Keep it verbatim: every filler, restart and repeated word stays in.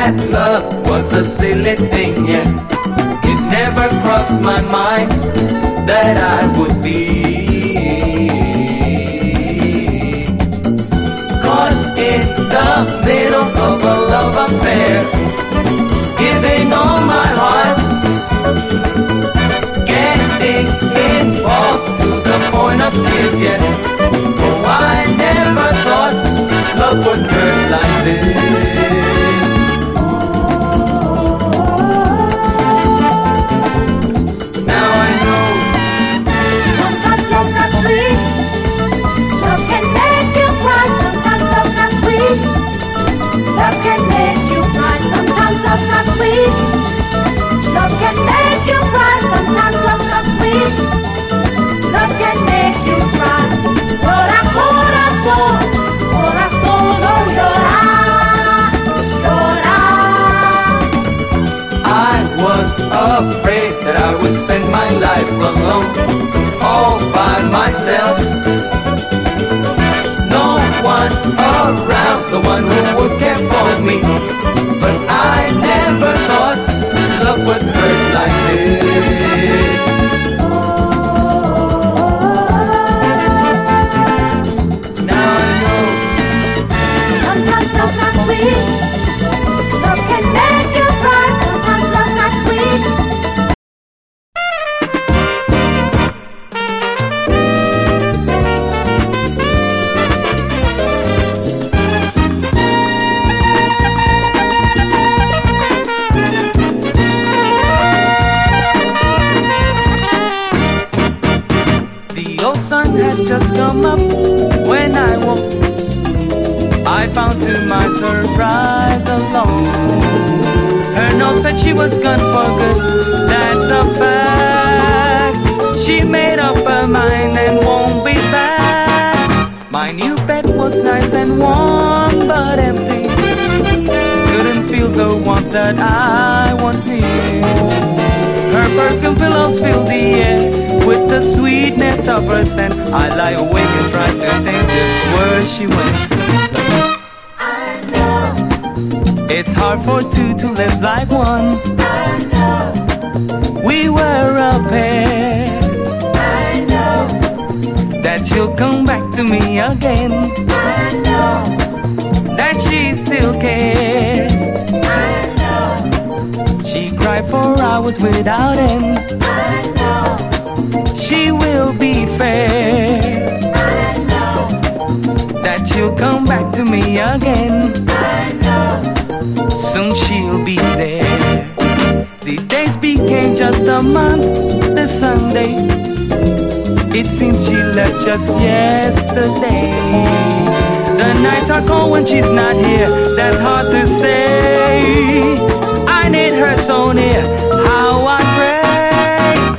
that love was a silly thing, yeah. It never crossed my mind that I would be caught in the middle of a love affair, giving all my heart, getting involved to the point of tears, yeah. Oh, I never thought love would hurt like this. Now I know sometimes love's not sweet. Love can make you cry. Sometimes love's not sweet. Love can make you cry. Sometimes love's not sweet. Love can make you cry. Sometimes love's not sweet. Love can make you cry. Llora corazón, corazón, no llora, llora. I was afraid that I would spend my life alone, all by myself. No one around, the one who would care for me. But I never thought love would hurt like this. Now I know sometimes love's not sweet. Love can make you cry. Sometimes love's not sweet. The old sun had just come up when I woke. I found to my surprise alone. Her note said she was gone for good, that's a fact. She made up her mind and won't be back. My new bed was nice and warm but empty. Couldn't feel the warmth that I once needed. Her perfume pillows fill the air with the sweetness of her scent. I lie awake and try to think just where she went. I know, It's hard for two to live like one. I know, We were a pair. I know, That she'll come back to me again. I know, That she still cares. I know, She cried for hours without end. I know, She will be fair. I know, That she'll come back to me again. I know. Soon she'll be there. The days became just a month, the Sunday. It seems she left just yesterday. The nights are cold when she's not here, that's hard to say. I need her so near,